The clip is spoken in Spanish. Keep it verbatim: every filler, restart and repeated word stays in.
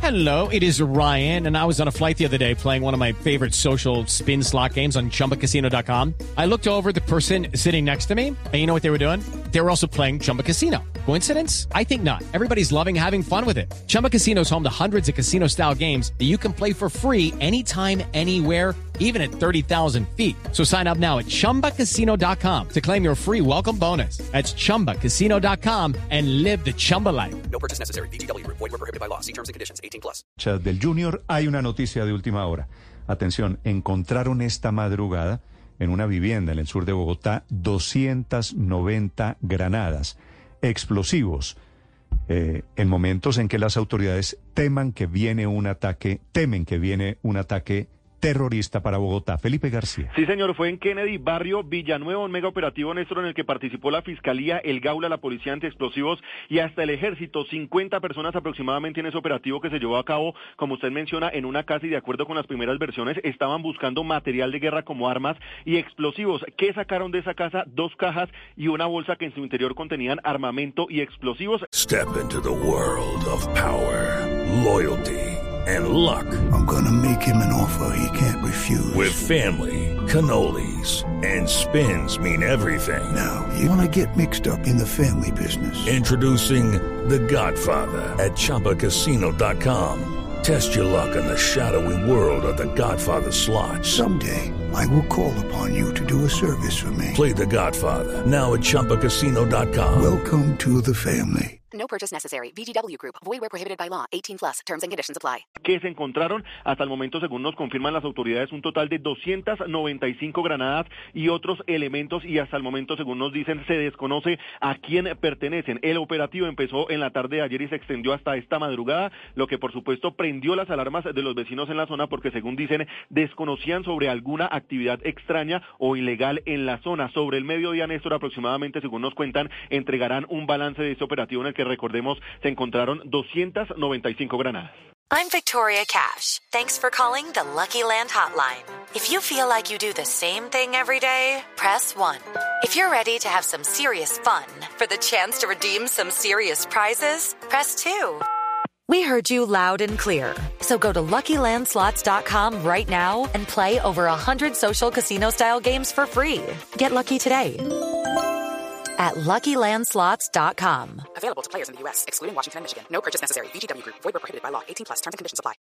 Hello, it is Ryan, and I was on a flight the other day playing one of my favorite social spin slot games on Chumba Casino dot com. I looked over at the person sitting next to me, and you know what they were doing? They were also playing Chumba Casino. Coincidence? I think not. Everybody's loving having fun with it. Chumba Casino is home to hundreds of casino-style games that you can play for free anytime, anywhere, even at thirty thousand feet. So sign up now at Chumba Casino dot com to claim your free welcome bonus. That's Chumba Casino dot com and live the Chumba life. No purchase necessary. V G W. Void where prohibited by law. See terms and conditions. eighteen plus. Chat del Junior, hay una noticia de última hora. Atención, encontraron esta madrugada en una vivienda en el sur de Bogotá doscientas noventa granadas, explosivos, eh, en momentos en que las autoridades teman que viene un ataque, temen que viene un ataque terrorista para Bogotá. Felipe García. Sí, señor, fue en Kennedy, barrio Villanueva, un mega operativo, Néstor, en el que participó la Fiscalía, el Gaula, la Policía Antiexplosivos y hasta el Ejército. cincuenta personas aproximadamente en ese operativo que se llevó a cabo, como usted menciona, en una casa, y de acuerdo con las primeras versiones, estaban buscando material de guerra como armas y explosivos. ¿Qué sacaron de esa casa? Dos cajas y una bolsa que en su interior contenían armamento y explosivos. Step into the world of power, loyalty, and luck. I'm gonna make him an offer he can't refuse. With family, cannolis, and spins mean everything. Now, you wanna get mixed up in the family business. Introducing The Godfather at Chumba Casino dot com. Test your luck in the shadowy world of The Godfather slot. Someday, I will call upon you to do a service for me. Play The Godfather, now at Chumba Casino dot com. Welcome to the family. No purchase necessary. V G W Group. Void where prohibited by law. eighteen plus. Terms and conditions apply. Que se encontraron hasta el momento, según nos confirman las autoridades, un total de doscientas noventa y cinco granadas y otros elementos, y hasta el momento, según nos dicen, se desconoce a quién pertenecen. El operativo empezó en la tarde de ayer y se extendió hasta esta madrugada, lo que por supuesto prendió las alarmas de los vecinos en la zona, porque según dicen, desconocían sobre alguna actividad extraña o ilegal en la zona. Sobre el mediodía, Néstor, aproximadamente, según nos cuentan, entregarán un balance de este operativo en el que, recordemos, se encontraron doscientas noventa y cinco granadas. I'm Victoria Cash. Thanks for calling the Lucky Land Hotline. If you feel like you do the same thing every day, press one. If you're ready to have some serious fun for the chance to redeem some serious prizes, press two. We heard you loud and clear. So go to Lucky Land Slots dot com right now and play over one hundred social casino-style games for free. Get lucky today at Lucky Land Slots dot com. Available to players in the U S, excluding Washington and Michigan. No purchase necessary. V G W Group. Void where prohibited by law. eighteen plus. Terms and conditions apply.